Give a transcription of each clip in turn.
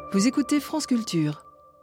Vous écoutez France Culture.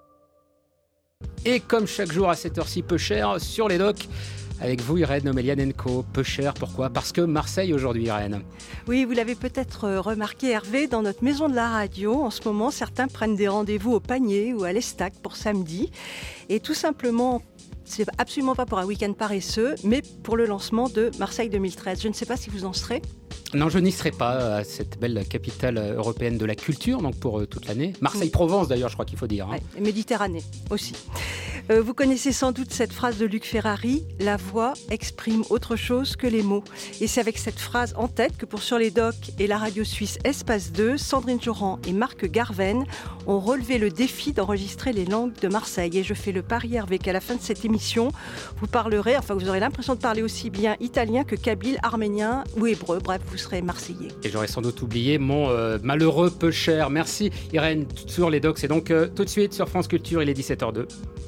Et comme chaque jour à cette heure-ci, peu cher sur les docks. Avec vous, Irène Omelianenko. Peu cher, pourquoi ? Parce que Marseille aujourd'hui, Irène. Oui, vous l'avez peut-être remarqué, Hervé, dans notre maison de la radio, en ce moment, certains prennent des rendez-vous au Panier ou à l'Estac pour samedi. Et tout simplement, c'est absolument pas pour un week-end paresseux, mais pour le lancement de Marseille 2013. Je ne sais pas si vous en serez. Non, je n'y serai pas à cette belle capitale européenne de la culture, donc pour toute l'année. Marseille-Provence d'ailleurs, je crois qu'il faut dire. Ouais, et Méditerranée aussi. Vous connaissez sans doute cette phrase de Luc Ferrari, « La voix exprime autre chose que les mots ». Et c'est avec cette phrase en tête que pour Sur les docks et la radio suisse Espace 2, Sandrine Joran et Marc Garven ont relevé le défi d'enregistrer les langues de Marseille. Et je fais le pari, Hervé, qu'à la fin de cette émission, vous aurez l'impression de parler aussi bien italien que kabyle, arménien ou hébreu. Bref, vous serez marseillais. Et j'aurais sans doute oublié mon malheureux peu cher. Merci Irène, Sur les docks. C'est donc tout de suite sur France Culture, il est 17h02.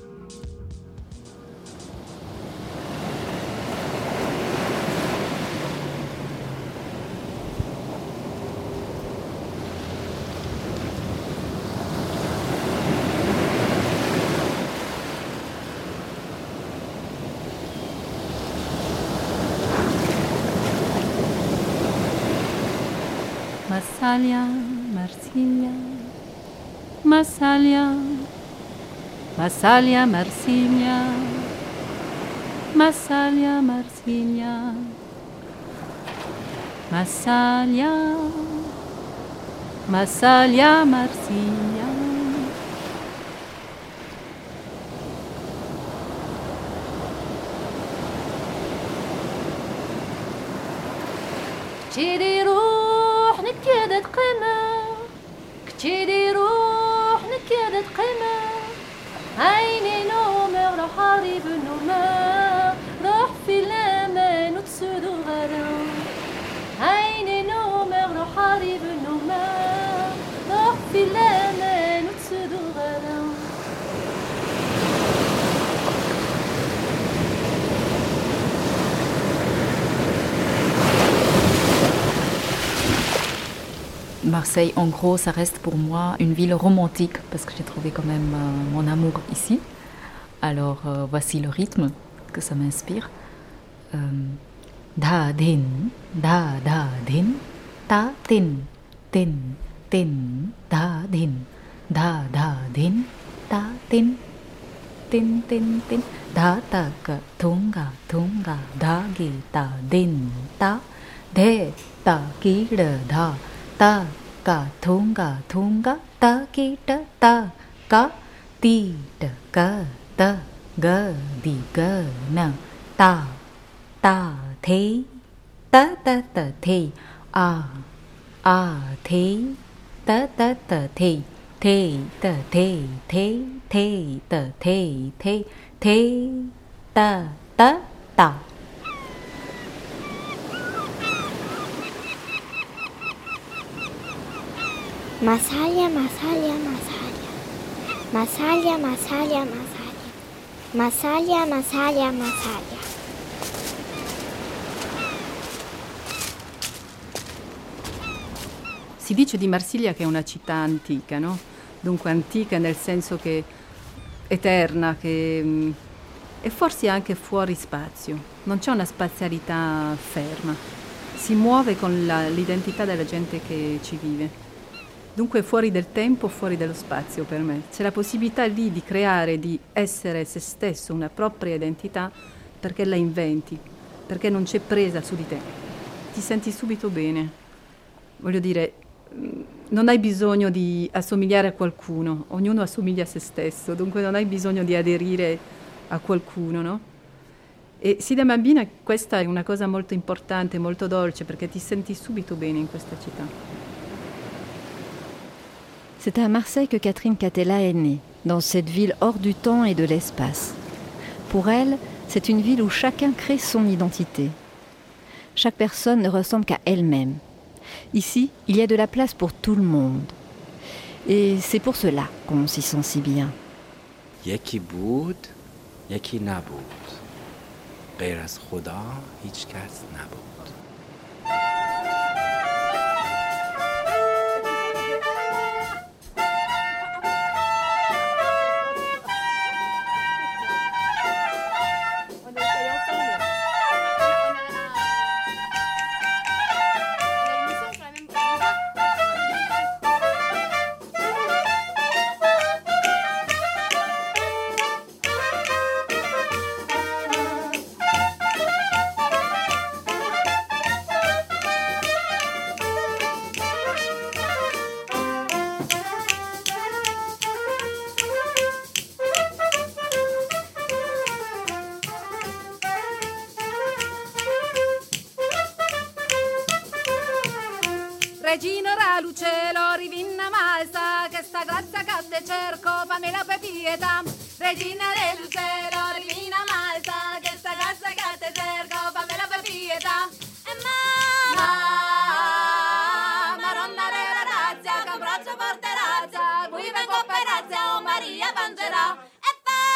Massalia, Marsiglia, Massalia, Massalia, Marsiglia, Massalia, Marsiglia, Massalia, Massalia, Marsiglia. نكادت قمة كتيري روح نكادت قمة عيني نومر روح حارب النومة روح في الأمان وتسودو غدا عيني نومر روح حارب النومة روح في الأمان وتسودو غدا Marseille, en gros, ça reste pour moi une ville romantique parce que j'ai trouvé quand même mon amour ici. Alors, voici le rythme que ça m'inspire. Da din, da din, ta tin, tin, tin, da din, ta tin, tin, tin, tin, da ta ka tunga, da gi ta din, ta de ta ki da. Ta ka thunga ta ki ta ka ti ka ta ga di ga na ta the ta the a the ta the the ta the ta Massalia, Massalia, Massalia. Massalia, Massalia, Massalia. Massalia, Massalia, Massalia. Si dice di Marsiglia che è una città antica, no? Dunque antica nel senso che eterna, che e forse anche fuori spazio. Non c'è una spazialità ferma. Si muove con l'identità della gente che ci vive. Dunque fuori del tempo, fuori dello spazio per me. C'è la possibilità lì di creare, di essere se stesso, una propria identità, perché la inventi, perché non c'è presa su di te. Ti senti subito bene. Voglio dire, non hai bisogno di assomigliare a qualcuno, ognuno assomiglia a se stesso, dunque non hai bisogno di aderire a qualcuno, no? E sì, da bambina questa è una cosa molto importante, molto dolce, perché ti senti subito bene in questa città. C'est à Marseille que Catherine Catella est née, dans cette ville hors du temps et de l'espace. Pour elle, c'est une ville où chacun crée son identité. Chaque personne ne ressemble qu'à elle-même. Ici, il y a de la place pour tout le monde. Et c'est pour cela qu'on s'y sent si bien. یکی بود یکی نبود غیر از خدا هیچ کس نبود. Regina Ralucelo, rivinna malsa, che sta grazia che te cerco, fammi la pietà. Regina Ralucelo, rivinna malsa, che sta grazia che te cerco, fammi la pietà. E Maronna della razza, che abbraccio forte razza, qui vengo per razza, oh Maria Pangerà. E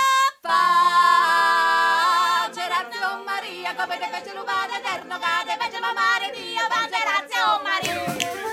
Gerazio, oh Maria, come te fece l'umato eterno, che te fece mamare Dio, Gerazio, oh Maria.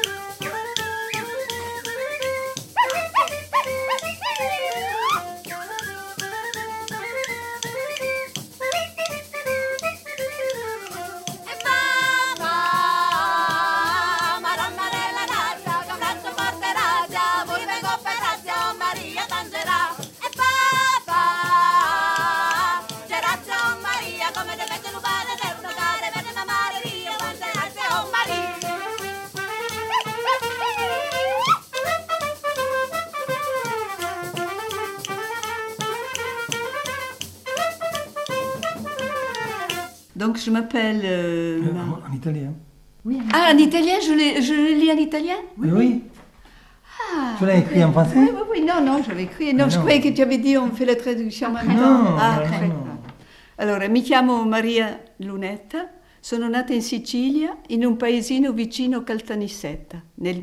Donc je m'appelle... En italien. Oui, en italien, je le lis en italien? Oui. Ah, tu l'as écrit en français? Oui, non, je l'ai écrit. Non, je croyais que tu avais dit on fait la traduction maintenant. No. Allora, mi chiamo Maria Lunetta, sono nata in Sicilia, in un paesino vicino Caltanissetta, nel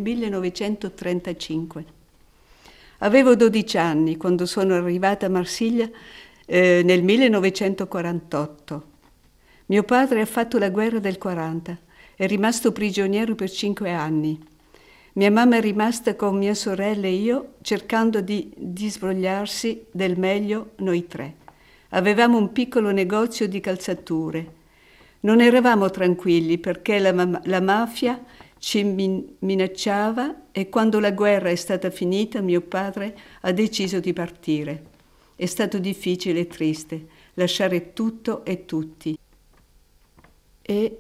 1935. Avevo 12 anni quando sono arrivata a Marsiglia nel 1948. Mio padre ha fatto la guerra del 40, è rimasto prigioniero per 5 anni. Mia mamma è rimasta con mia sorella e io cercando di svogliarsi del meglio noi tre. Avevamo un piccolo negozio di calzature. Non eravamo tranquilli perché la mafia ci minacciava e quando la guerra è stata finita mio padre ha deciso di partire. È stato difficile e triste lasciare tutto e tutti. E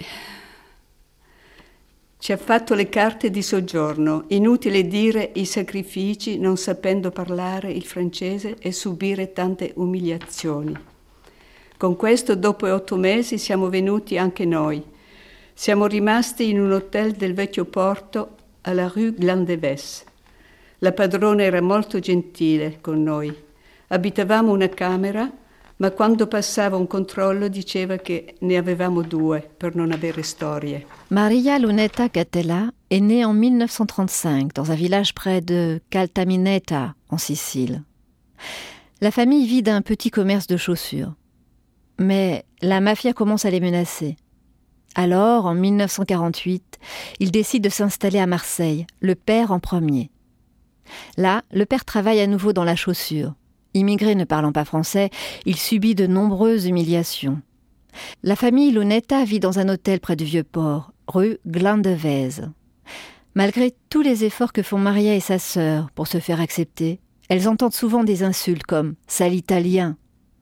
ci ha fatto le carte di soggiorno. Inutile dire i sacrifici non sapendo parlare il francese e subire tante umiliazioni. Con questo, dopo 8 mesi, siamo venuti anche noi. Siamo rimasti in un hotel del vecchio porto alla rue Glandevès. La padrona era molto gentile con noi. Abitavamo una camera, ma quando passava un controllo diceva che ne avevamo 2 per non avere storie. Maria Lunetta Catella est née en 1935 dans un village près de Caltamineta, en Sicile. La famille vit d'un petit commerce de chaussures. Mais la mafia commence à les menacer. Alors, en 1948, ils décident de s'installer à Marseille, le père en premier. Là, le père travaille à nouveau dans la chaussure. Immigré ne parlant pas français, il subit de nombreuses humiliations. La famille Lunetta vit dans un hôtel près du Vieux-Port, rue Glandevès. Malgré tous les efforts que font Maria et sa sœur pour se faire accepter, elles entendent souvent des insultes comme « sale italien ».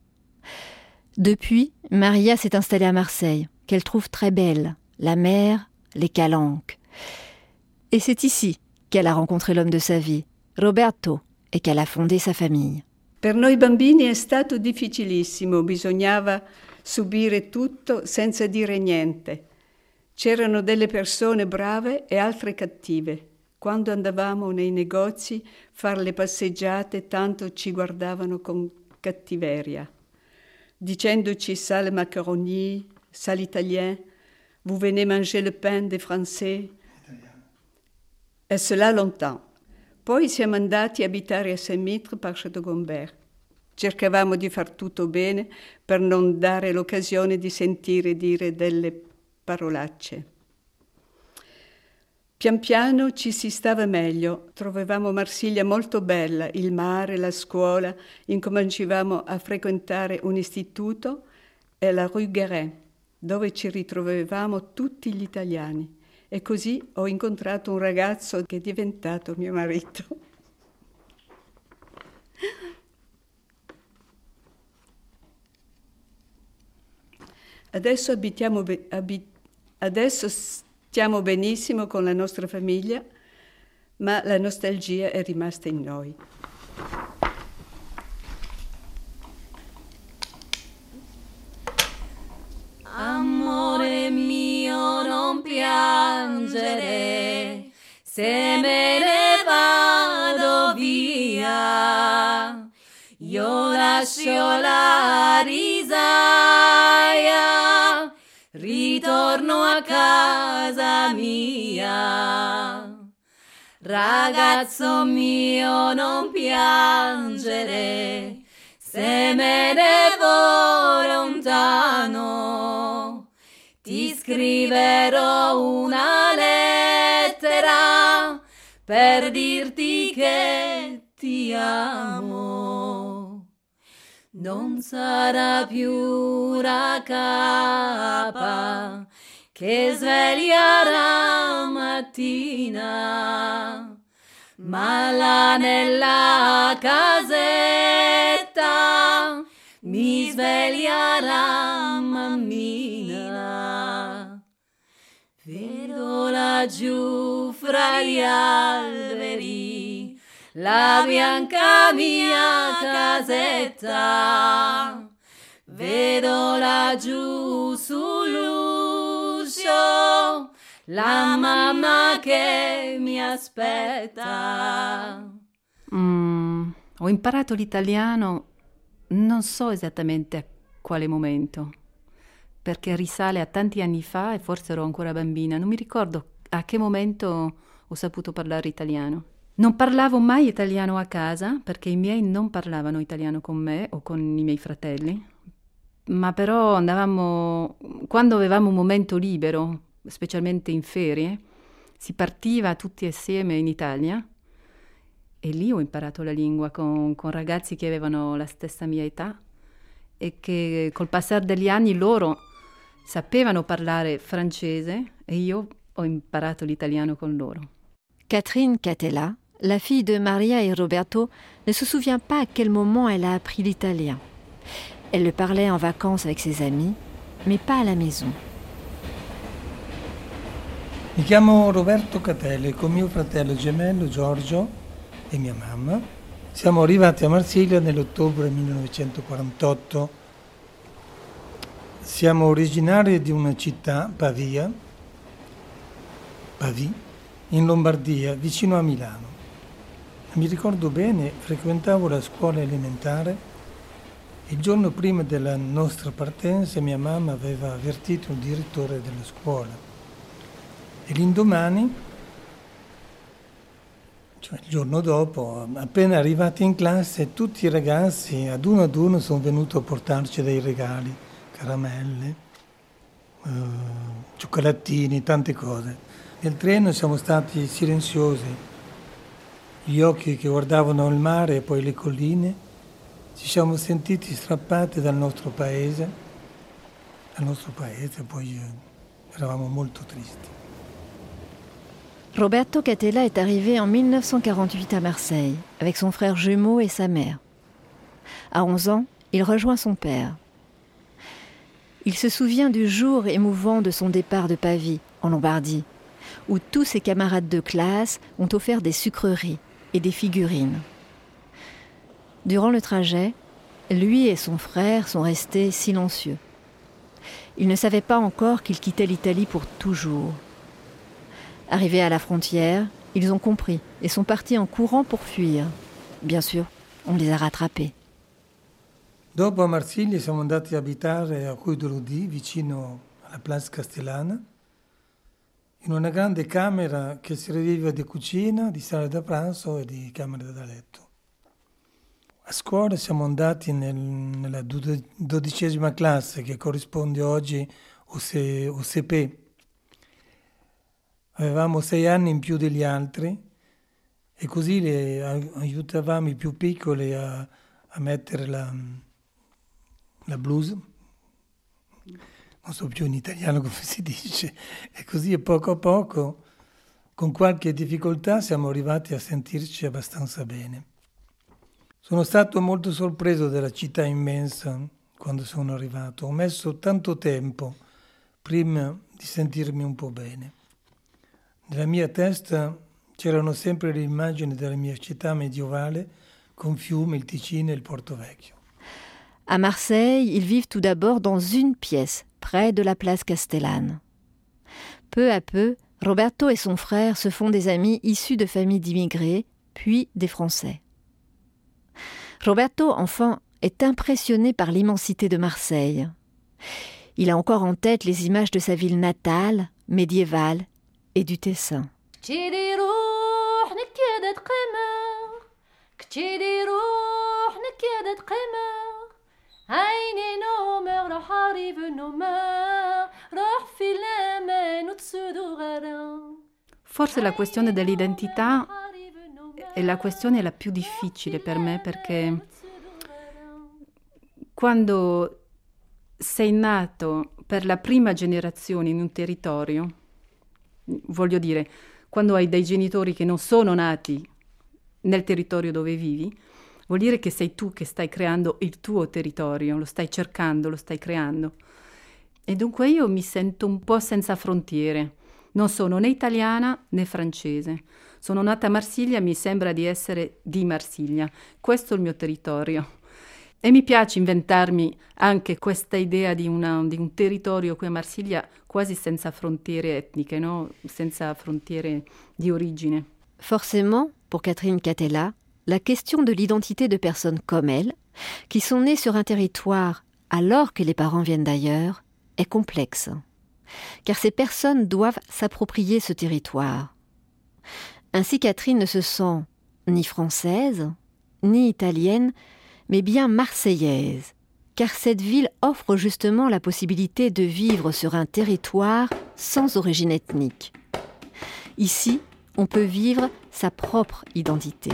Depuis, Maria s'est installée à Marseille, qu'elle trouve très belle, la mer, les calanques. Et c'est ici qu'elle a rencontré l'homme de sa vie, Roberto, et qu'elle a fondé sa famille. Per noi bambini è stato difficilissimo, bisognava subire tutto senza dire niente. C'erano delle persone brave e altre cattive. Quando andavamo nei negozi, fare le passeggiate, tanto ci guardavano con cattiveria, dicendoci sale macaroni, sale italien, vous venez manger le pain des Français. E cela longtemps. Poi siamo andati a abitare a Saint-Mitre par Château-Gombert. Cercavamo di far tutto bene per non dare l'occasione di sentire dire delle parolacce. Pian piano ci si stava meglio, trovavamo Marsiglia molto bella, il mare, la scuola, incominciavamo a frequentare un istituto e la rue Guérin, dove ci ritrovavamo tutti gli italiani. E così ho incontrato un ragazzo che è diventato mio marito. Adesso stiamo benissimo con la nostra famiglia, ma la nostalgia è rimasta in noi. Amore mio, non piangere, se me ne vado via, io lascio la risaia, ritorno a casa mia. Ragazzo mio, non piangere, se me ne vo lontano, ti scriverò una lettera per dirti che ti amo. Non sarà più una capa che sveglia la mattina, ma là nella casetta mi sveglia la mammina. Vedo laggiù fra gli alberi la bianca mia casetta, vedo laggiù sull'uscio la mamma che mi aspetta. Ho imparato l'italiano, non so esattamente a quale momento, perché risale a tanti anni fa e forse ero ancora bambina. Non mi ricordo a che momento ho saputo parlare italiano. Non parlavo mai italiano a casa, perché i miei non parlavano italiano con me o con i miei fratelli, ma però andavamo, quando avevamo un momento libero, specialmente in ferie, si partiva tutti assieme in Italia e lì ho imparato la lingua con ragazzi che avevano la stessa mia età e che col passare degli anni loro sapevano parlare francese e io ho imparato l'italiano con loro. Catherine Catella, la fille de Maria et Roberto, ne se souvient pas à quel moment elle a appris l'italien. Elle le parlait en vacances avec ses amis, mais pas à la maison. Mi chiamo Roberto Catella e con mio fratello gemello Giorgio e mia mamma siamo arrivati a Marsiglia nell'ottobre 1948. Siamo originari di una città, Pavia, in Lombardia, vicino a Milano. Mi ricordo bene, frequentavo la scuola elementare. Il giorno prima della nostra partenza mia mamma aveva avvertito il direttore della scuola e l'indomani, cioè il giorno dopo, appena arrivati in classe, tutti i ragazzi ad uno sono venuti a portarci dei regali, caramelle, cioccolatini, tante cose. Nel treno siamo stati silenziosi, gli occhi che guardavano il mare e poi le colline. Ci siamo sentiti strappati dal nostro paese, poi eravamo molto tristi. Roberto Catella est arrivé en 1948 à Marseille, avec son frère jumeau et sa mère. À 11 ans, il rejoint son père. Il se souvient du jour émouvant de son départ de Pavie, en Lombardie, où tous ses camarades de classe ont offert des sucreries et des figurines. Durant le trajet, lui et son frère sont restés silencieux. Ils ne savaient pas encore qu'ils quittaient l'Italie pour toujours. Arrivés à la frontière, ils ont compris et sont partis en courant pour fuir. Bien sûr, on les a rattrapés. Dopo a Marsiglia siamo andati a abitare a Rue de Lodi, vicino alla Place Castellana, in una grande camera che serviva di cucina, di sala da pranzo e di camera da letto. A scuola siamo andati nella 12ª classe, che corrisponde oggi UCP. Avevamo 6 anni in più degli altri e così aiutavamo i più piccoli a mettere la blouse. Non so più in italiano come si dice. E così poco a poco, con qualche difficoltà, siamo arrivati a sentirci abbastanza bene. Sono stato molto sorpreso dalla città immensa quando sono arrivato. Ho messo tanto tempo prima di sentirmi un po' bene. Nella mia testa c'erano sempre le immagini della mia città medievale con fiumi, il Ticino e il Porto Vecchio. À Marseille, ils vivent tout d'abord dans une pièce, près de la place Castellane. Peu à peu, Roberto et son frère se font des amis issus de familles d'immigrés, puis des Français. Roberto, enfant, est impressionné par l'immensité de Marseille. Il a encore en tête les images de sa ville natale, médiévale et du Tessin. Forse la questione dell'identità è la questione la più difficile per me, perché quando sei nato per la prima generazione in un territorio, voglio dire, quando hai dei genitori che non sono nati nel territorio dove vivi, vuol dire che sei tu che stai creando il tuo territorio, lo stai cercando, lo stai creando. E dunque io mi sento un po' senza frontiere. Non sono né italiana né francese. Sono nata a Marsiglia e mi sembra di essere di Marsiglia. Questo è il mio territorio. E mi piace inventarmi anche questa idea di un territorio qui a Marsiglia quasi senza frontiere etniche, no? Senza frontiere di origine. Forcément, pour Catherine Catella, la question de l'identité de personnes comme elle, qui sont nées sur un territoire alors que les parents viennent d'ailleurs, est complexe. Car ces personnes doivent s'approprier ce territoire. Ainsi, Catherine ne se sent ni française, ni italienne, mais bien marseillaise, car cette ville offre justement la possibilité de vivre sur un territoire sans origine ethnique. Ici, on peut vivre sa propre identité.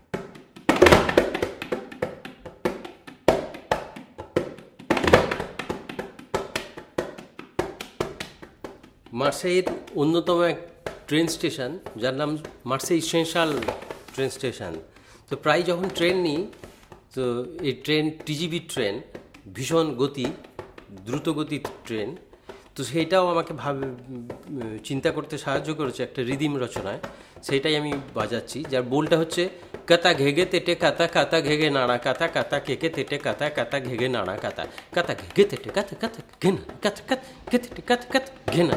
মার্সেইয়ের অন্যতম এক train station যার নাম Marseille central train station. তো প্রায় যখন ট্রেন নিই, তো এই ট্রেন টিজিভি ট্রেন, ভীষণ গতি, দ্রুত গতির ট্রেন, তো সেইটাও আমাকে চিন্তা করতে সাহায্য করেছে একটা রিদিম রচনায়। সেইটাই আমি বাজাচ্ছি, যার বোলটা হচ্ছে কাতা ঘেগে তেটে কাতা, কাতা ঘেগে নাড়া কাতা, কাতা কেকে তেটে কাতা, কাতা ঘেগে নাড়া কাতা, কাতা ঘেগে তেটে কাতা, কাতা ঘেনা কাতা, কাতা ঘেতে কাতা, কাতা ঘেনা।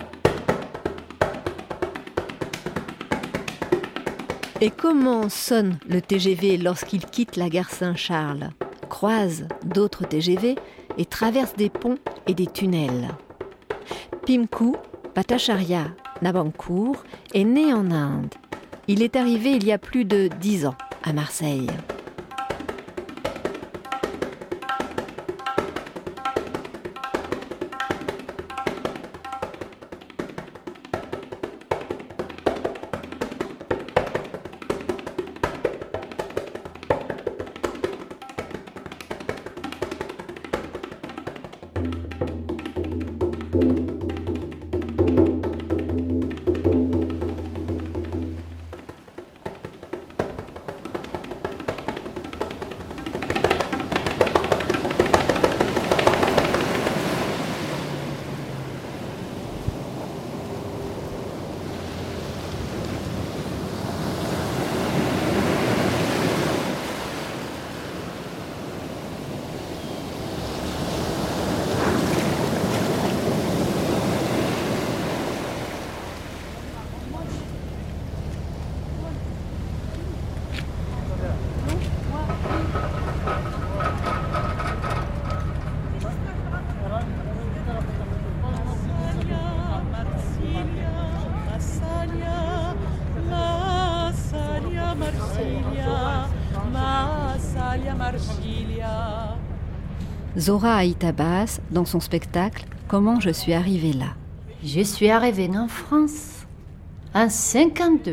Et comment sonne le TGV lorsqu'il quitte la gare Saint-Charles, croise d'autres TGV et traverse des ponts et des tunnels? Pimku Bhattacharya Nabancour est né en Inde. Il est arrivé il y a plus de 10 ans à Marseille. Zora Aït-Abbas, dans son spectacle « Comment je suis arrivée là ». Je suis arrivée en France en 1952.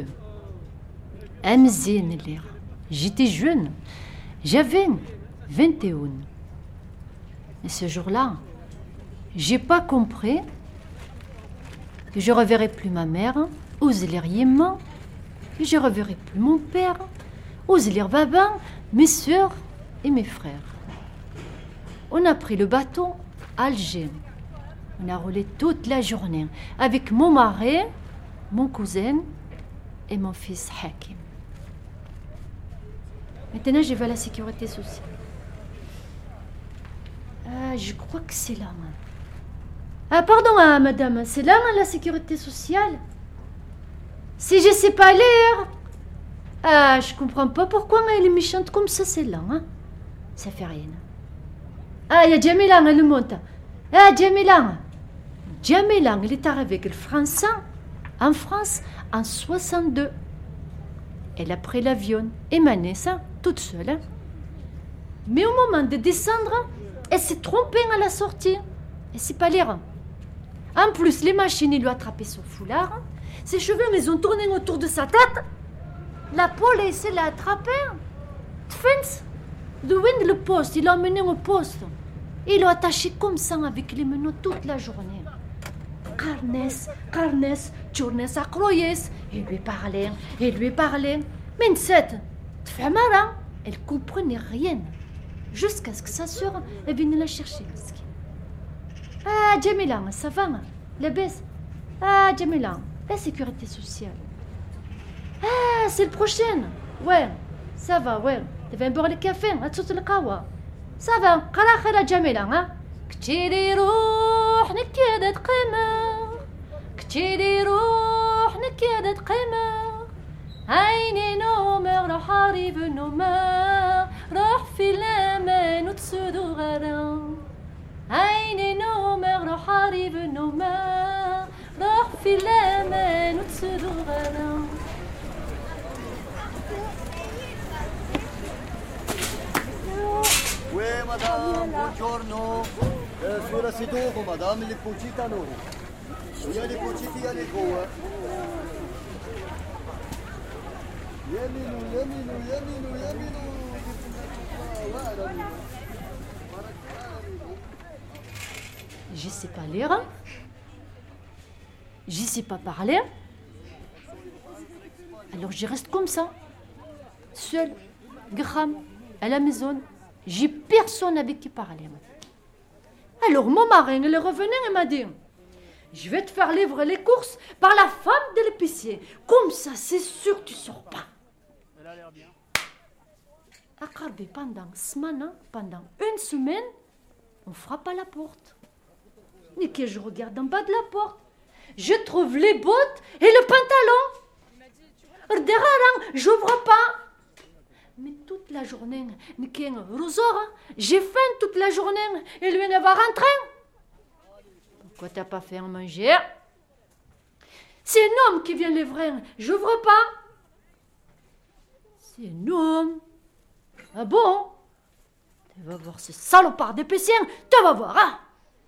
J'étais jeune, j'avais 21. Et ce jour-là, j'ai pas compris que je reverrai plus ma mère, ou Zélériement, que je reverrai plus mon père, ou Zélir Baban, mes soeurs et mes frères. On a pris le bateau à Alger. On a roulé toute la journée avec mon mari, mon cousin et mon fils Hakim. Maintenant, je vais à la sécurité sociale. Je crois que c'est là. Ah, pardon, madame, c'est là, la sécurité sociale? Si je sais pas lire. Ah, je comprends pas pourquoi elle est méchante comme ça, celle-là. Hein? Ça fait rien. Ah, il y a Jamila, elle monte. Ah, Jamila. Jamila, elle est arrivée avec le français en France en 62. Elle a pris l'avion et Manessa, toute seule. Hein? Mais au moment de descendre, elle s'est trompée à la sortie. Elle sait pas lire. En plus, les machines, ils lui ont attrapé son foulard. Ses cheveux, ils ont tourné autour de sa tête. La police l'a attrapé. Tfins, de wind le poste, il l'a emmené au poste. Ils l'ont attaché comme ça avec les menottes toute la journée. Carnes, journées à croyes. Il lui parlait. Mais cette femme-là, elle comprenait rien. Jusqu'à ce que sa sœur vienne la chercher. Ah, Jamila, ça va? La baisse? Ah, Jamila, la sécurité sociale. Ah, c'est le prochain. Ouais, ça va, ouais. Tu vas boire le café, tu le kawa. Ça va, قراخة جميلة ها. كتيري روح نكيدة قمر. كتيري روح نكيدة قمر. عيني نومر روح عريب نومر. روح في الأمان وتسودو غرام. عيني نومر روح عريب نومر. روح في الأمان وتسودو غرام. Oui, madame, buongiorno. Sulla seduto, madame, le pocitano. Il y a les pociti, il y a les gros. Yaminu. Je sais pas lire. Je sais pas parler. Alors je reste comme ça. Seule, Graham, à la maison. J'ai personne avec qui parler. Alors mon mari, il est revenu et m'a dit, je vais te faire livrer les courses par la femme de l'épicier. Comme ça, c'est sûr que tu ne sors pas. Elle a l'air bien. Pendant une semaine, on frappe à la porte. Et que je regarde en bas de la porte, je trouve les bottes et le pantalon. J'ouvre pas. Mais toute la journée, j'ai faim toute la journée et lui ne va rentrer. Pourquoi t'as pas fait à manger? C'est un homme qui vient livrer, j'ouvre pas. C'est un homme. Ah bon? Tu vas voir ce salopard d'épicier, tu vas voir, hein?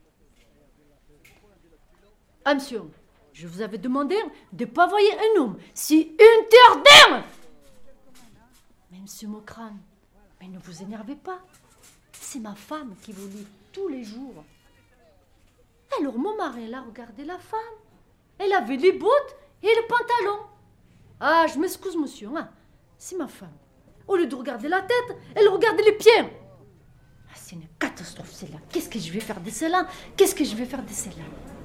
Ah monsieur, je vous avais demandé de ne pas envoyer un homme, si interdit. Mais monsieur Mocran, mais ne vous énervez pas. C'est ma femme qui vous lit tous les jours. Alors mon mari, elle a regardé la femme. Elle avait les bottes et le pantalon. Ah, je m'excuse monsieur, hein. C'est ma femme. Au lieu de regarder la tête, elle regardait les pieds. Ah, c'est une catastrophe celle-là. Qu'est-ce que je vais faire de celle-là? Qu'est-ce que je vais faire de celle-là?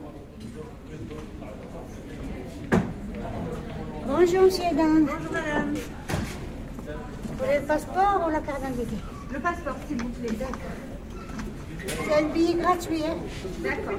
Bonjour monsieur et dames. Bonjour madame. Vous voulez le passeport ou la carte d'identité? Le passeport, s'il vous plaît. D'accord. C'est un billet gratuit, hein? D'accord.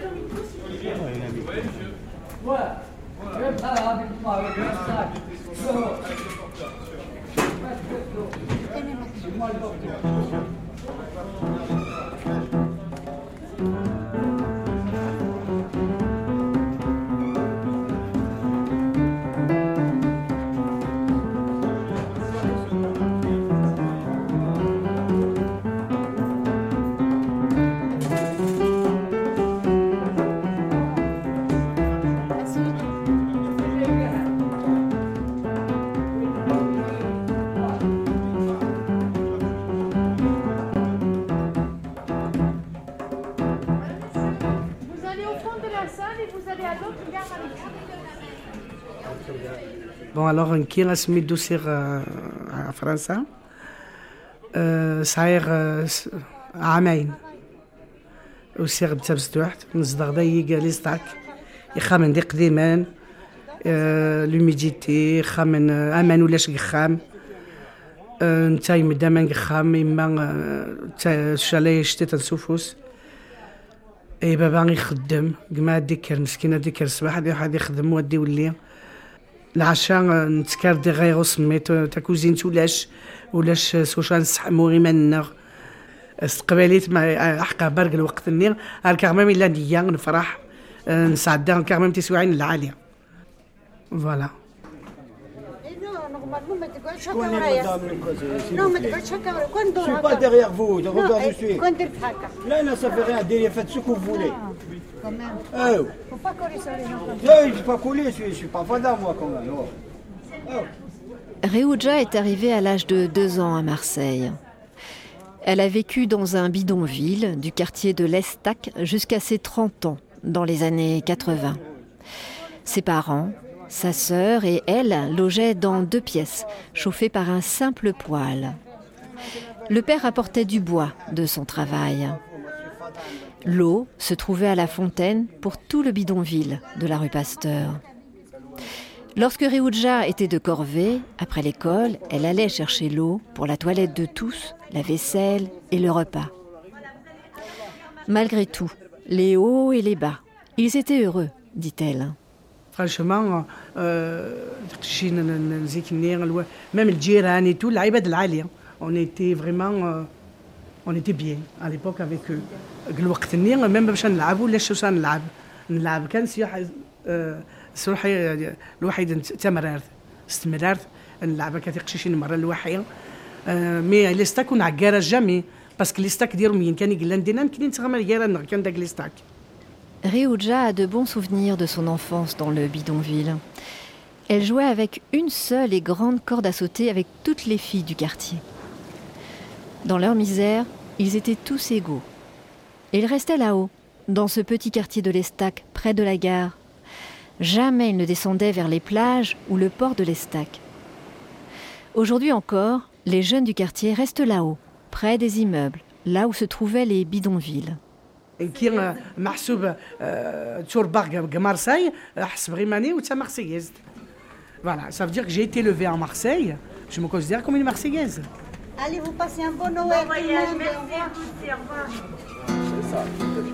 Bon, alors, كي غنسميتو سير فرنسا صاير عامين وسير بتبستوحت نصدق داي جاليستاك يخامن دي قديمان لوميديتي خامن امان ولاش يخام نتاي مدام نخام اما شالي شتي تنسوفوس اي بابا يخدم كما ديك المسكينه ديك الصباح واحد يخدم ودي ولي العشاء نتكارد غير سميت تاكوزين ولاش سوشان نسحمو غي منغ استقباليت مع احقا برق الوقت النير الكرمام الا نيا نفرح نسعد الكرمام تسوعين العاليه فوالا. Non, mais tu chacun. Je suis pas derrière vous, regarde où je suis. Là, ça fait rien, faites ce que vous voulez. Quand même. Faut pas coller sur les gens. Je ne suis pas collé, je suis pas fada moi quand même. Réouja est arrivée à l'âge de 2 ans à Marseille. Elle a vécu dans un bidonville du quartier de l'Estac jusqu'à ses 30 ans, dans les années 80. Ses parents, sa sœur et elle logeaient dans 2 pièces, chauffées par un simple poêle. Le père apportait du bois de son travail. L'eau se trouvait à la fontaine pour tout le bidonville de la rue Pasteur. Lorsque Réouja était de corvée, après l'école, elle allait chercher l'eau pour la toilette de tous, la vaisselle et le repas. Malgré tout, les hauts et les bas, ils étaient heureux, dit-elle. Franchement, même le Djiran et tout, l'Aïbad l'Ali, on était vraiment, on était bien à l'époque avec eux. الوقت النير même باش نلعبوا ولا شو نلعب كان سروحي الوحيد تمررت استمررت نلعب كثير شي مره الواحيه مي لي ستاك ونعكار جامي باسكو لي ستاك ديالهم مين كان يقلان دينا كاين تغمر يرا كان داك لي ستاك. Réouja a de bons souvenirs de son enfance dans le bidonville. Elle jouait avec une seule et grande corde à sauter avec toutes les filles du quartier. Dans leur misère, ils étaient tous égaux. Et ils restaient là-haut, dans ce petit quartier de l'Estac, près de la gare. Jamais ils ne descendaient vers les plages ou le port de l'Estac. Aujourd'hui encore, les jeunes du quartier restent là-haut, près des immeubles, là où se trouvaient les bidonvilles. كي محسوب تور باغ مارسيل حسب غيماني وتا مارسييز. Voilà, ça veut dire que j'ai été élevée à Marseille, je me considère comme une Marseillaise. Allez, vous passez un bon Noël. Bon voyage, merci à vous, au revoir. C'est ça,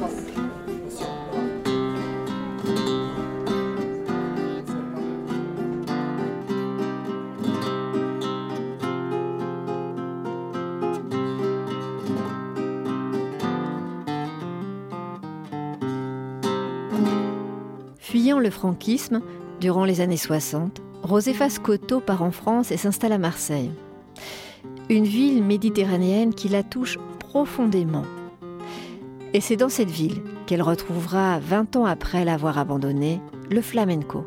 Fuyant le franquisme, durant les années 60, Josefa Scotto part en France et s'installe à Marseille. Une ville méditerranéenne qui la touche profondément. Et c'est dans cette ville qu'elle retrouvera, 20 ans après l'avoir abandonné, le flamenco.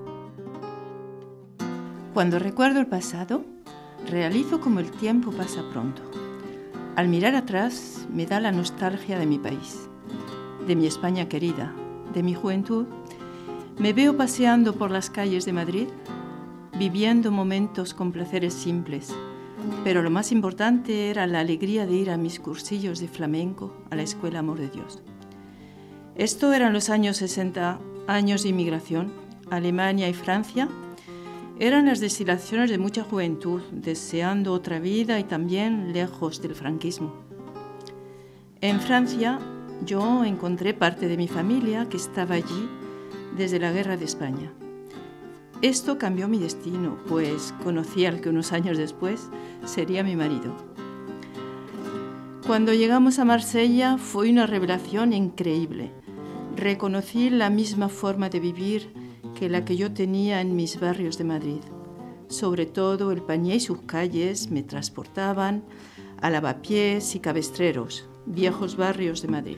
Cuando recuerdo el pasado, realizo como el tiempo pasa pronto. Al mirar atrás, me da la nostalgia de mi país, de mi España querida, de mi juventud. Me veo paseando por las calles de Madrid, viviendo momentos con placeres simples, pero lo más importante era la alegría de ir a mis cursillos de flamenco a la Escuela Amor de Dios. Esto eran los años 60, años de inmigración. Alemania y Francia eran las destilaciones de mucha juventud, deseando otra vida y también lejos del franquismo. En Francia, yo encontré parte de mi familia que estaba allí desde la Guerra de España. Esto cambió mi destino, pues conocí al que unos años después sería mi marido. Cuando llegamos a Marsella fue una revelación increíble. Reconocí la misma forma de vivir que la que yo tenía en mis barrios de Madrid. Sobre todo el Panié y sus calles me transportaban a Lavapiés y Cabestreros, viejos barrios de Madrid.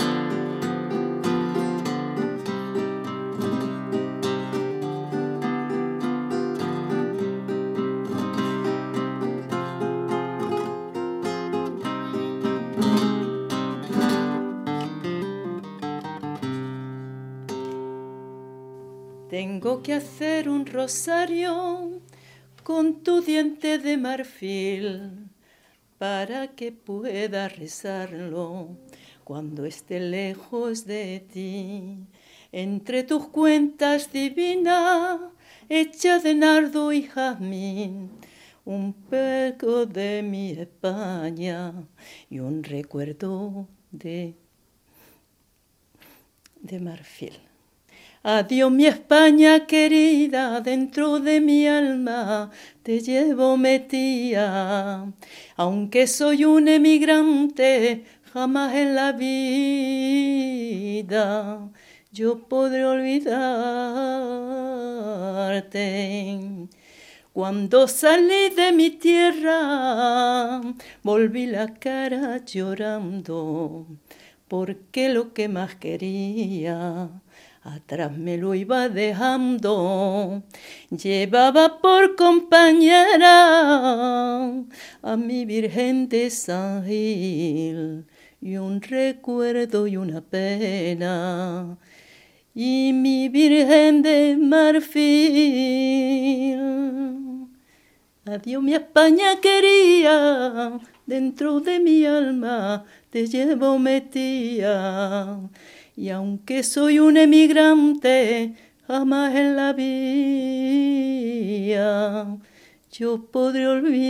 Tengo que hacer un rosario con tu diente de marfil para que pueda rezarlo cuando esté lejos de ti. Entre tus cuentas divina, hecha de nardo y jazmín, un poco de mi España y un recuerdo de marfil. Adiós mi España querida, dentro de mi alma te llevo metida. Aunque soy un emigrante, jamás en la vida yo podré olvidarte. Cuando salí de mi tierra, volví la cara llorando, porque lo que más quería atrás me lo iba dejando. Llevaba por compañera a mi Virgen de San Gil, y un recuerdo y una pena, y mi Virgen de marfil. Adiós mi España querida, dentro de mi alma te llevo metida. Y aunque soy un emigrante, jamás en la vida yo podré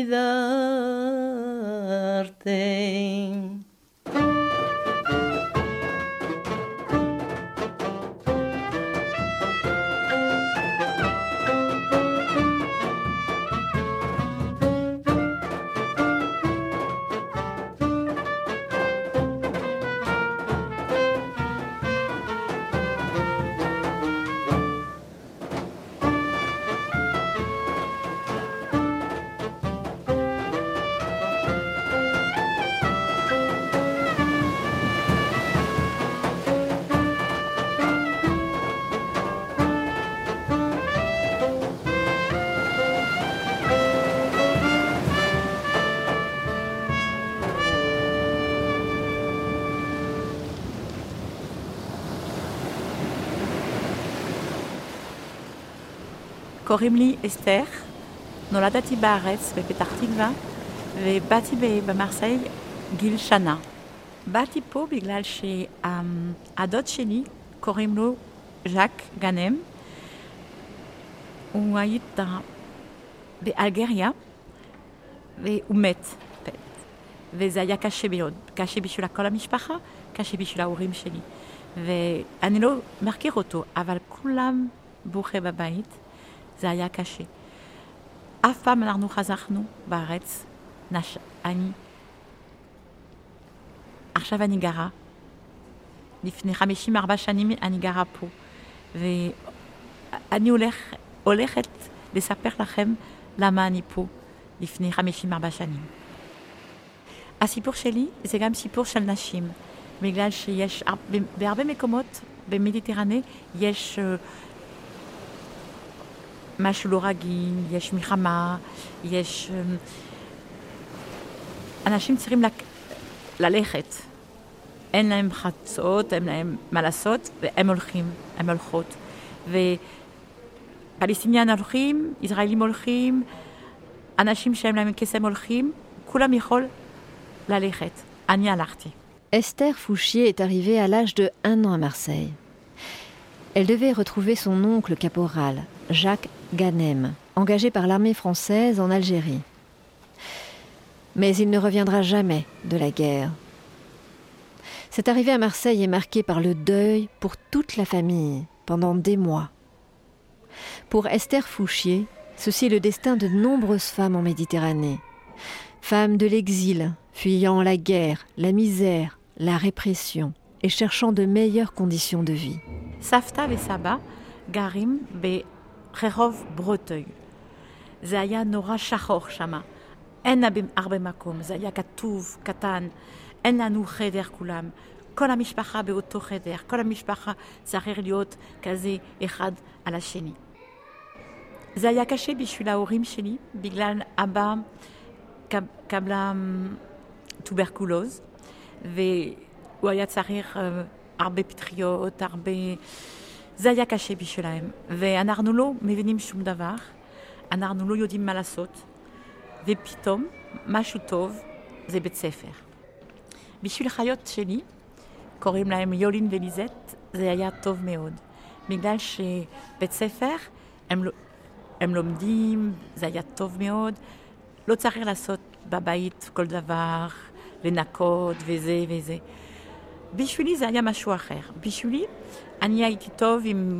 olvidarte. קוראים לי אסתר, נולדתי בארץ בפתח תקווה ובאתי במרסיי גיל שנה. באתי פה בגלל שהדוד שלי קוראים לו ז'אק גאנם. הוא היה באלגריה והוא מת. וזה היה קשה מאוד, קשה בשביל כל המשפחה, קשה בשביל ההורים שלי. ואני לא מכיר אותו, אבל כולם בוכה בבית. זה היה קשה. אף פעם אנחנו חזרנו בארץ. עכשיו אני גרה. לפני 54 שנים אני גרה פה. ואני הולכת לספר לכם למה אני פה לפני 54 שנים. הסיפור שלי זה גם סיפור של נשים. בגלל שיש בהרבה מקומות במדיטרניה יש משהו לא רגיל, יש מלחמה, יש... אנשים צריכים ללכת. אין להם חצות, אין להם מה לעשות, והם הולכים, הם הולכות. ופלסטינים הולכים, ישראלים הולכים, אנשים שאין להם כסף הולכים, כולם יכול ללכת. אני הלכתי. Esther Fouchier est arrivée à l'âge de 1 an à Marseille. Elle devait retrouver son oncle caporal, Jacques Ghanem, engagé par l'armée française en Algérie. Mais il ne reviendra jamais de la guerre. Cette arrivée à Marseille est marquée par le deuil pour toute la famille pendant des mois. Pour Esther Fouchier, ceci est le destin de nombreuses femmes en Méditerranée. Femmes de l'exil, fuyant la guerre, la misère, la répression et cherchant de meilleures conditions de vie. סבתא וסבא גרים ברחוב ברוטוי. זה היה נורא שחור שמה. אין הרבה מקום, זה היה כתוב, קטן. אין לנו חדר כולם. כל המשפחה באותו חדר. כל המשפחה צריך להיות כזה אחד על השני. זה היה קשה בשביל ההורים שלי, בגלל אבא קבלה טוברקולוז, והוא היה צריך הרבה פטריות, הרבה... זה היה קשה בשבילהם. ואנחנו לא מבינים שום דבר, אנחנו לא יודעים מה לעשות, ופתאום משהו טוב זה בית ספר. בשביל חיות שלי, קוראים להם יולין וליזט, זה היה טוב מאוד. בגלל שבית ספר, הם לומדים, זה היה טוב מאוד. לא צריך לעשות בבית כל דבר, לנקות וזה וזה. בשבילי זה היה משהו אחר. בשבילי אני הייתי טוב עם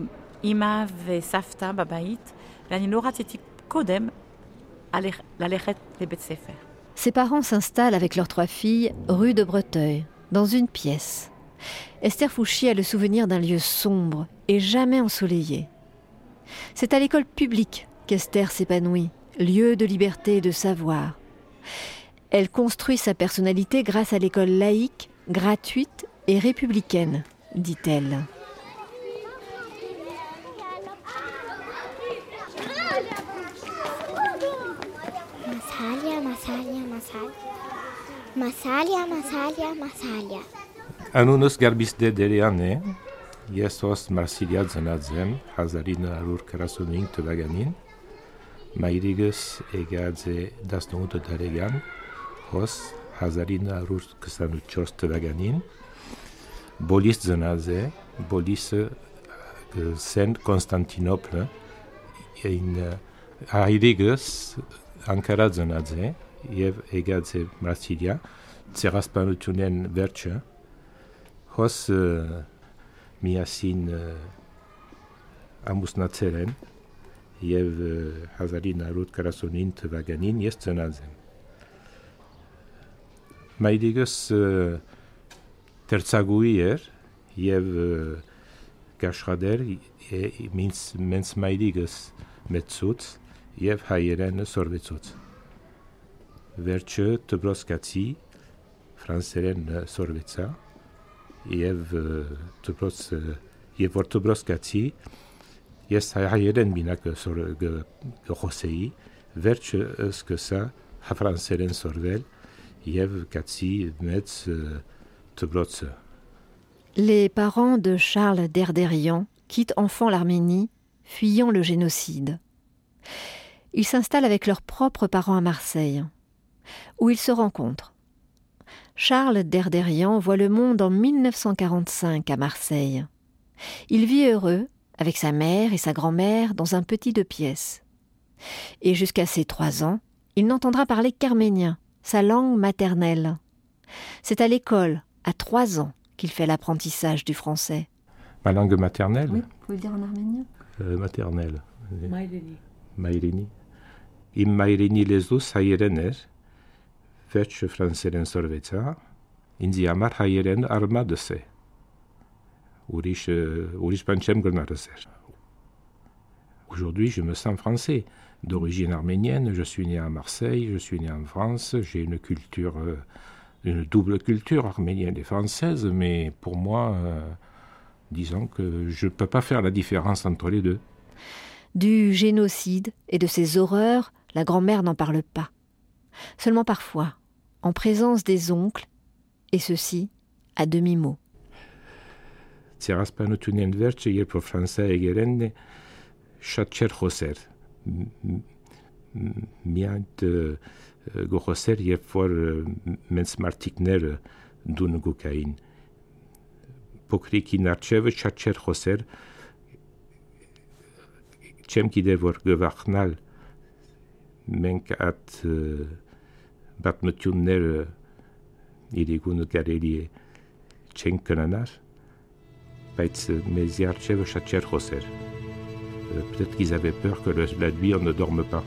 אמא וסבתא בבית, ואני לא רציתי קודם ללכת לבית ספר. Ses parents s'installent avec leurs 3 filles rue de Breteuil, dans une pièce. Esther Fouchy a le souvenir d'un lieu sombre et jamais ensoleillé. C'est à l'école publique qu'Esther s'épanouit, lieu de liberté et de savoir. Elle construit sa personnalité grâce à l'école laïque, gratuite et républicaine, dit-elle. Անունս Գարբիստե Դերյանն է, ես հոս Մարսիլիա ծնած եմ 1945 թվականին, մայրիկս եկած է 18 տարեկան, հոս 1924 թվականին, բոլիս ծնած է, բոլիսը Սենտ Կոնստանտինոպլը, հայրիկս Անկարա ծնած է և եկած է Մարսիլիա, ցեղասպանությունեն վերջը, հոս միասին ամուսնացել են և 1949 թվականին ես ծնած եմ։ Մայրիկս դերձակուհի էր և կաշխատեր մենց մայրիկս մեծուց և հայերենը սորվեցուց։ Վերջը դպրոցկացի ֆրանսերեն սորվեցա և որ դպրոցկացի ես հայերեն մինակ գխոսեի, վերջը սկսա ֆրանսերեն սորվել և կացի մեծ դպրոցը։ Les parents de Charles Derderian quittent enfants l'Arménie, fuyant le génocide. Ils s'installent avec leurs propres parents à Marseille, où ils se rencontrent. Charles Derderian voit le monde en 1945 à Marseille. Il vit heureux avec sa mère et sa grand-mère dans un petit 2 pièces. Et jusqu'à ses 3 ans, il n'entendra parler qu'arménien, sa langue maternelle. C'est à l'école, à 3 ans, qu'il fait l'apprentissage du français. Ma langue maternelle? Oui, vous pouvez le dire en arménien? Maternelle. Maïrini. Maïrini. Իմ մայրենի լեզուս հայերեն էր, վերջը ֆրանսերեն սորվեցա, ինձի համար հայերեն արմադս է, ուրիշ բան չեմ գնարս էր։ Aujourd'hui, je me sens français, d'origine arménienne, je suis né à Marseille, je suis né en France, j'ai une culture, une double culture arménienne et française, mais pour moi, disons que je ne peux pas faire la différence entre les deux. Du génocide et de ses horreurs, la grand-mère n'en parle pas. Seulement parfois, en présence des oncles, et ceci à demi-mot. Ցեղասպանությունն վերջը, երբ որ Ֆրանսիա եկերեն շատ չեր խոսեր։ Միայն գոխոսեր, երբ որ մենց մարտիկները դուն գուկային։ Փոքրիկին արջևը շատ չեր խոսեր։ Չեմ գիտեր որ գվախնալ մենք այդ բատմությունները իրիկունը կարելի է չենք կնանար, բայց մեզ արջևը շատ չեր խոսեր։ Peut-être qu'ils avaient peur que la nuit on ne dorme pas.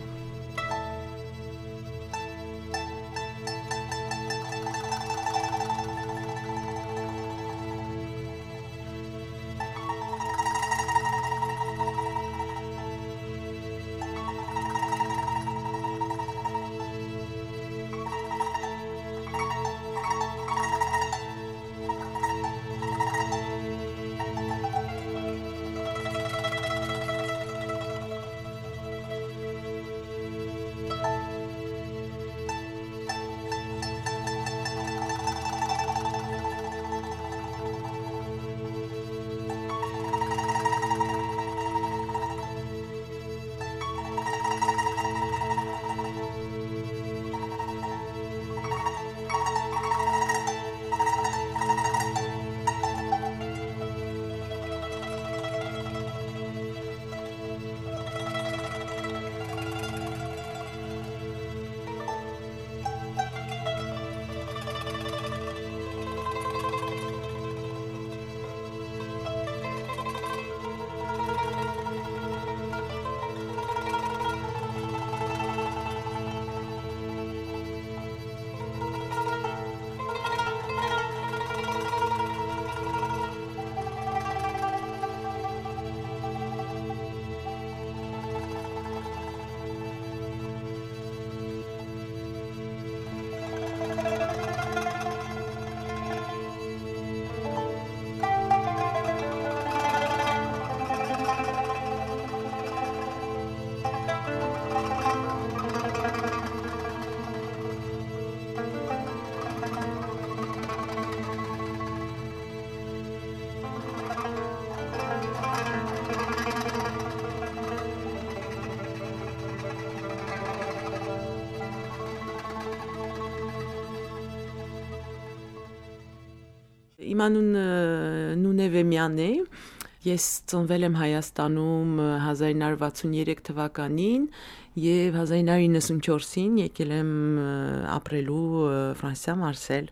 Իմ անունը Նունևեմյան է։ Ես ծնվել եմ Հայաստանում 1963 թվականին եւ 1994-ին եկել եմ ապրելու Ֆրանսիա Մարսել։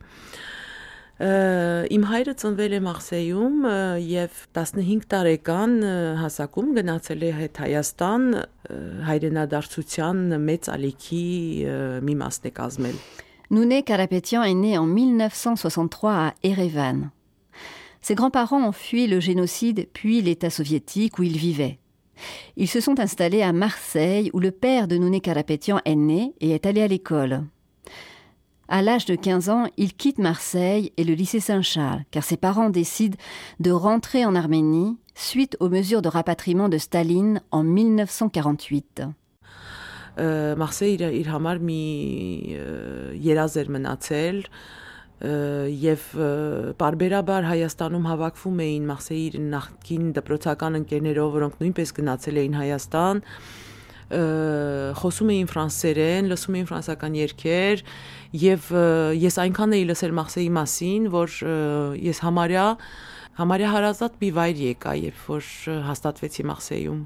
Իմ հայրը ծնվել է Մարսեյում եւ 15 տարեկան հասակում գնացել է հետ Հայաստան հայրենադարձության մեծ ալիքի մի մասն է կազմել։ Nouné Karapetyan est né en 1963 à Erevan. Ses grands-parents ont fui le génocide puis l'État soviétique où ils vivaient. Ils se sont installés à Marseille où le père de Nouné Karapetyan est né et est allé à l'école. À l'âge de 15 ans, il quitte Marseille et le lycée Saint-Charles car ses parents décident de rentrer en Arménie suite aux mesures de rapatriement de Staline en 1948. Մարսեյը իր համար մի երազ էր մնացել եւ բարբերաբար Հայաստանում հավաքվում էին Մարսեյի նախկին դպրոցական ընկերներով, որոնք նույնպես գնացել էին Հայաստան, խոսում էին ֆրանսերեն, լսում էին ֆրանսական երգեր եւ ես այնքան էի լսել Մարսեյի մասին, որ ես համարյա հարազատ մի վայր եկա, երբ որ հաստատվեցի Մարսեյում.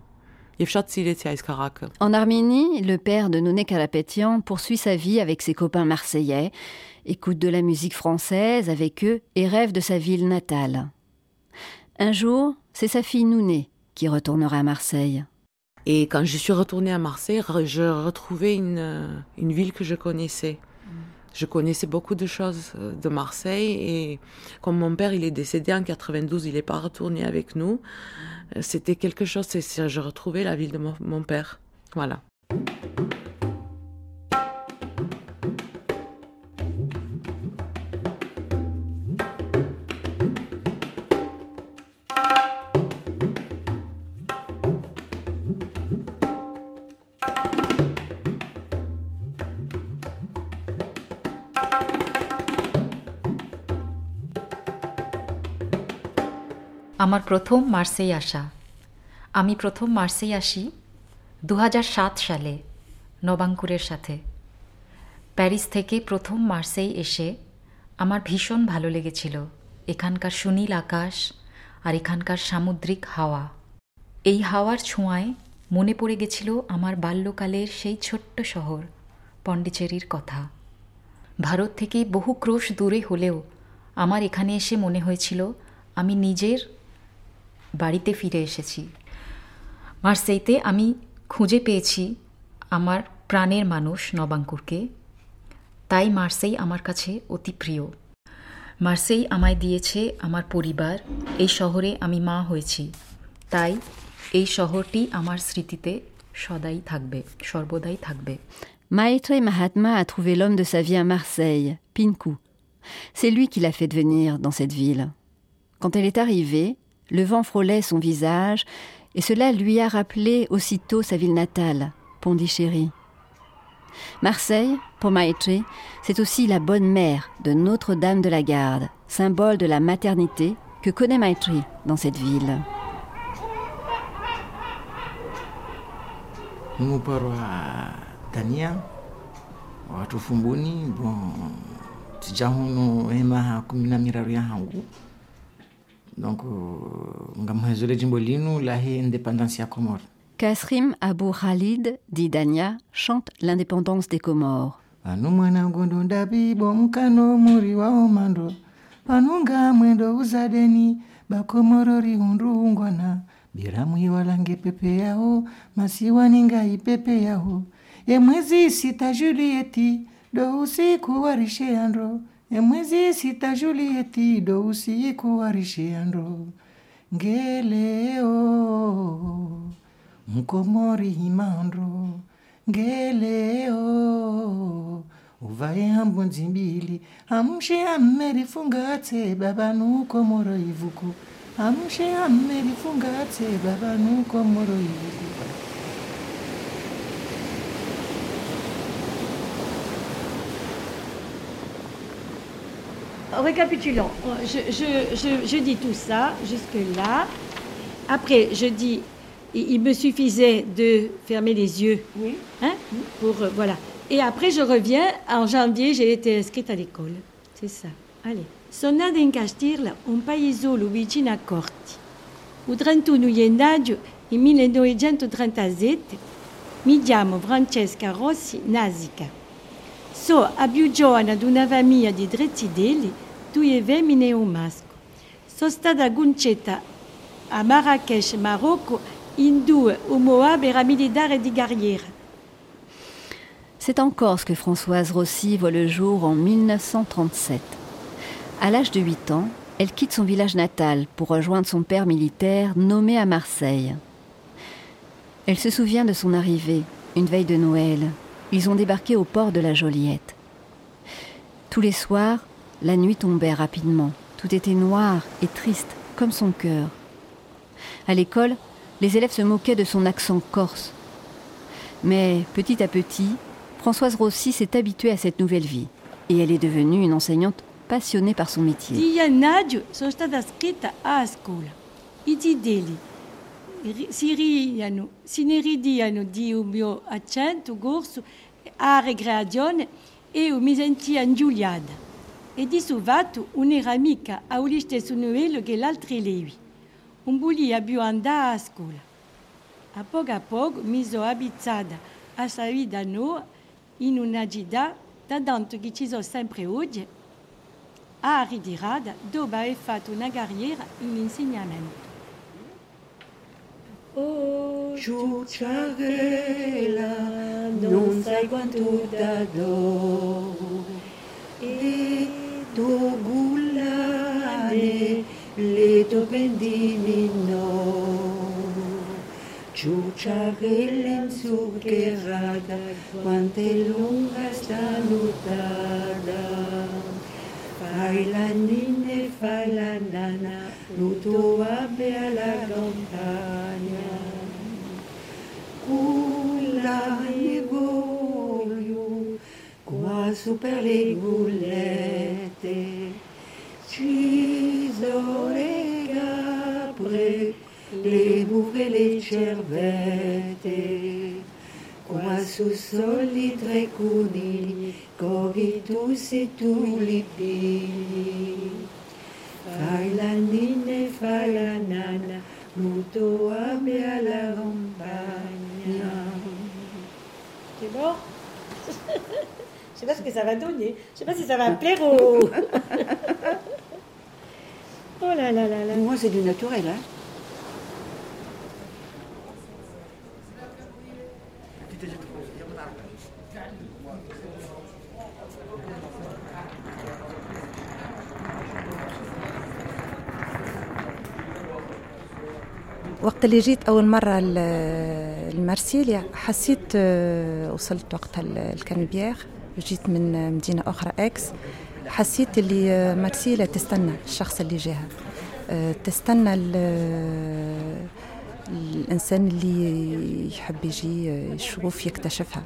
En Arménie, le père de Nouné Karapetyan poursuit sa vie avec ses copains marseillais, écoute de la musique française avec eux et rêve de sa ville natale. Un jour, c'est sa fille Nouné qui retournera à Marseille. Et quand je suis retournée à Marseille, je retrouvais une ville que je connaissais. Je connaissais beaucoup de choses de Marseille et comme mon père il est décédé en 92, il n'est pas retourné avec nous. C'était quelque chose, je retrouvais la ville de mon père. Voilà. আমার প্রথম মার্সেই আসা। আমি প্রথম মার্সেই আসি 2007 সালে নবাঙ্কুরের সাথে। প্যারিস থেকে প্রথম মার্সেই এসে আমার ভীষণ ভালো লেগেছিল এখানকার সুনীল আকাশ আর এখানকার সামুদ্রিক হাওয়া। এই হাওয়ার ছোঁয়ায় মনে পড়ে গেছিল আমার বাল্যকালের সেই ছোট্ট শহর পন্ডিচেরির কথা। ভারত থেকে বহু ক্রোশ দূরে হলেও আমার এখানে এসে মনে হয়েছিল আমি নিজের বাড়িতে ফিরে এসেছি। মার্সেইতে আমি খুঁজে পেয়েছি আমার প্রাণের মানুষ নবাঙ্কুরকে, তাই মার্সেই আমার কাছে অতি প্রিয়। মার্সেই আমায় দিয়েছে আমার পরিবার, এই শহরে আমি মা হয়েছি, তাই এই শহরটি আমার স্মৃতিতে সর্বদাই থাকবে। Maître Mahatma a trouvé l'homme de sa vie à Marseille, Pinkou. C'est lui qui l'a fait devenir dans cette ville. Quand elle est arrivée, le vent frôlait son visage et cela lui a rappelé aussitôt sa ville natale, Pondichéry. Marseille, pour Maître, c'est aussi la bonne mère de Notre-Dame de la Garde, symbole de la maternité que connaît Maître dans cette ville. Tania watu fumbuni bon tijahuno ema kumina miraru ya hangu donc ngamhezole jimbolino la indépendance ya Comores. Kasrim Abou Khalid, dit Dania, chante l'indépendance des Comores. Anu mwana gondo ndabi bomkano muri wa omando panunga mwendo uzadeni bakomorori hundungwana biramu iwalange pepe yao masiwaninga ipepe yao Emwezi sita Julieti do usiku warisheandro Emwezi sita Julieti do usiku warisheandro Ngeleo Mkomori himandro Ngeleo Uvae hambonzimbili Amshe ameri fungate babanu komoro ivuku Amshe ameri fungate babanu komoro ivuku Récapitulons, je dis tout ça jusque-là. Après, je dis, il me suffisait de fermer les yeux. Oui. Hein, pour, voilà. Et après, je reviens. En janvier, j'ai été inscrite à l'école. C'est ça. Allez. sono nata in Castirla, un paesolo vicino a Corti. Il 31 gennaio 1937 mi chiamo Francesca Rossi Nasica. Sono la più giovane di una famiglia di 3 figli, 2 femmine e un maschio. Sono stata concetta a Marrakech, Marocco, in 2 opera militaire di carriera. C'est en Corse que Françoise Rossi voit le jour en 1937. À l'âge de 8 ans, elle quitte son village natal pour rejoindre son père militaire nommé à Marseille. Elle se souvient de son arrivée, une veille de Noël. Ils ont débarqué au port de la Joliette. Tous les soirs, la nuit tombait rapidement. Tout était noir et triste, comme son cœur. À l'école, les élèves se moquaient de son accent corse. Mais petit à petit, Françoise Rossi s'est habituée à cette nouvelle vie. Et elle est devenue une enseignante passionnée par son métier. Di gennaio sono stata scritta a scuola. I figli si ne ridiano di un mio accento corso a ricreazione e mi sentia ingiuliata. E di suo fatto un'era amica a lo stesso livello che l'altra levi. Non volia più andare a scuola. A poco mi sono abituata a questa vita nuova in una città, tanto che ci sono sempre oggi, a ritirata dopo aver fatto una carriera in insegnamento. Oh, ciucciarella, non sai quanto t'adoro, e tu gullane, le tue pendini no. Ciucciarella inzuccherata, quanto è lunga sta nuotata. Fai la ninna e fai la nana, nuoto abbia alla campagna. Culla e voglio, qua su per le gullette, ci sono le capre, le buche e le cervette. Qua su soli 3 conigli, corri tu se tu li pigli. Fai la ninna e fai la nana, molto abbia la campagna. C'est bon? Je sais pas ce que ça va donner. Je sais pas si ça va plaire aux... Oh là là là là. Moi, c'est du naturel, hein. وقت اللي جيت أول مرة لمارسيليا حسيت وصلت وقتها الكانبيير جيت من مدينة أخرى إكس حسيت اللي مارسيليا تستنى الشخص اللي جاها تستنى الإنسان اللي يحب يجي يشوف يكتشفها.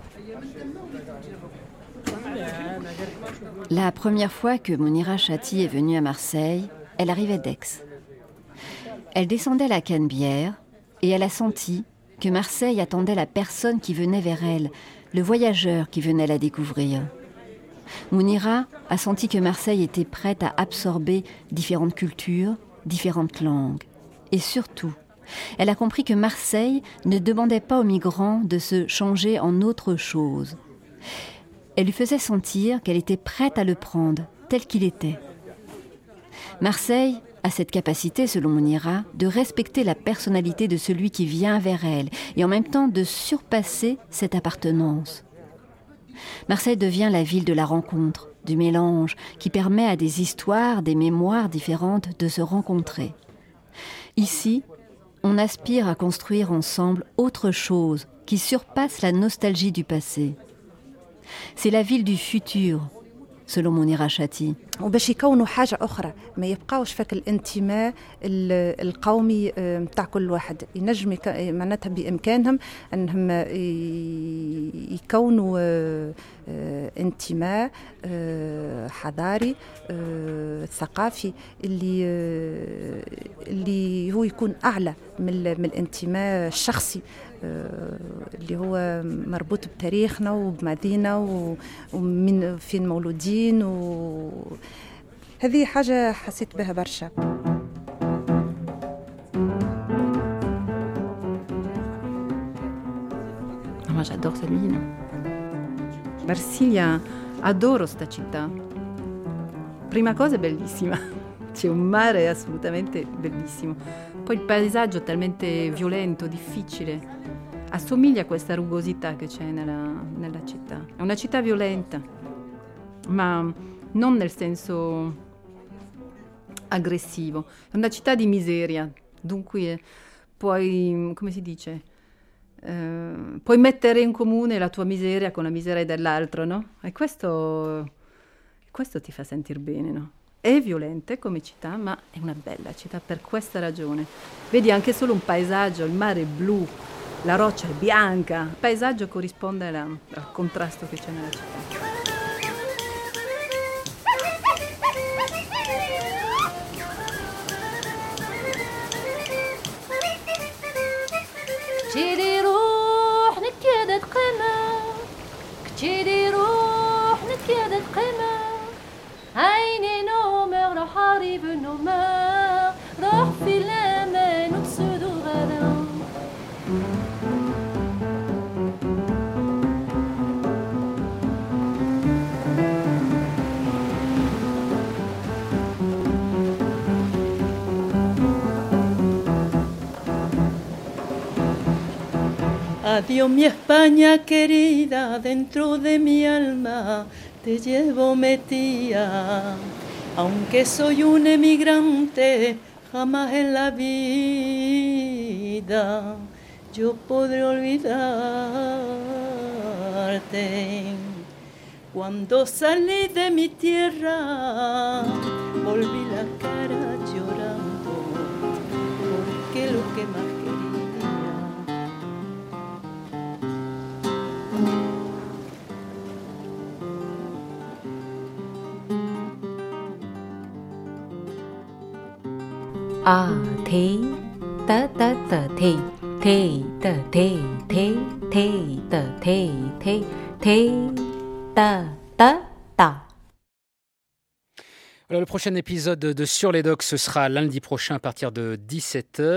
La première fois que Mounira Chati est venue à Marseille, elle arrivait d'Aix. Elle descendait la Canebière et elle a senti que Marseille attendait la personne qui venait vers elle, le voyageur qui venait la découvrir. Mounira a senti que Marseille était prête à absorber différentes cultures, différentes langues. Et surtout, elle a compris que Marseille ne demandait pas aux migrants de se changer en autre chose. Elle lui faisait sentir qu'elle était prête à le prendre tel qu'il était. Marseille a cette capacité, selon Mounira, de respecter la personnalité de celui qui vient vers elle et en même temps de surpasser cette appartenance. Marseille devient la ville de la rencontre, du mélange, qui permet à des histoires, des mémoires différentes de se rencontrer. Ici, on aspire à construire ensemble autre chose qui surpasse la nostalgie du passé. C'est la ville du futur, selon Mounira Chati. وباش يكونوا حاجة أخرى ما يبقاوش فك الانتماء القومي متاع كل واحد ينجم معناتها بإمكانهم أنهم يكونوا انتماء حضاري ثقافي اللي هو يكون أعلى من الانتماء الشخصي اللي هو مربوط بتاريخنا وبمدينة ومن فين مولودين هذه حاجة حسيت بها برشا. Ma j'adore cette ville. Marsiglia, adoro sta città. Prima cosa è bellissima, c'è un mare assolutamente bellissimo. Poi il paesaggio è talmente violento, difficile. Assomiglia a questa rugosità che c'è nella città. È una città violenta, ma non nel senso aggressivo. È una città di miseria, dunque puoi, come si dice, puoi mettere in comune la tua miseria con la miseria dell'altro, no? E questo ti fa sentire bene, no? È violenta come città, ma è una bella città per questa ragione. Vedi anche solo un paesaggio, il mare è blu, la roccia è bianca. Il paesaggio corrisponde al contrasto che c'è nella città. كتيري روح نكيدة قمة كتيري روح نكيدة قمة عيني نومر راح أريب نومر راح في الأمان وتسودو غدا Adiós mi España querida, dentro de mi alma te llevo metida. Aunque soy un emigrante, jamás en la vida yo podré olvidarte. Cuando salí de mi tierra, volví la cara llorando, porque lo que más A thế ta ta ta thế thế ta thế thế thế ta thế thế thế ta ta ta. Voilà, le prochain épisode de Sur les Docks, ce sera lundi prochain à partir de 17h.